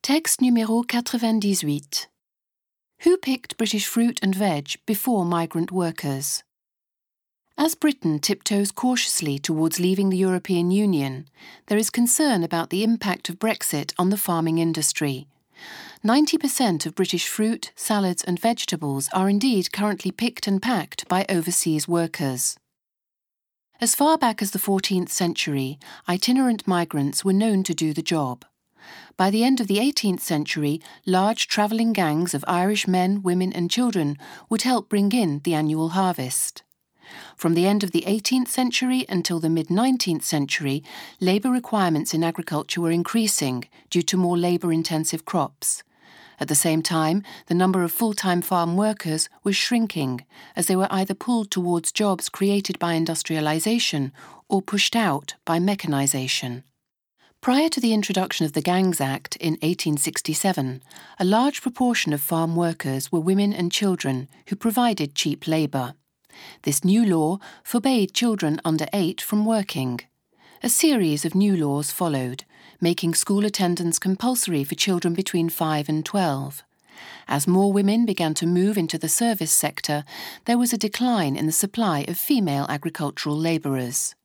Texte numéro 98. Who picked British fruit and veg before migrant workers? As Britain tiptoes cautiously towards leaving the European Union, there is concern about the impact of Brexit on the farming industry. 90% of British fruit, salads and vegetables are indeed currently picked and packed by overseas workers. As far back as the 14th century, itinerant migrants were known to do the job. By the end of the 18th century, large travelling gangs of Irish men, women and children would help bring in the annual harvest. From the end of the 18th century until the mid-19th century, labour requirements in agriculture were increasing due to more labour-intensive crops. At the same time, the number of full-time farm workers was shrinking, as they were either pulled towards jobs created by industrialisation or pushed out by mechanisation. Prior to the introduction of the Gangs Act in 1867, a large proportion of farm workers were women and children who provided cheap labour. This new law forbade children under 8 from working. A series of new laws followed, making school attendance compulsory for children between 5 and 12. As more women began to move into the service sector, there was a decline in the supply of female agricultural labourers.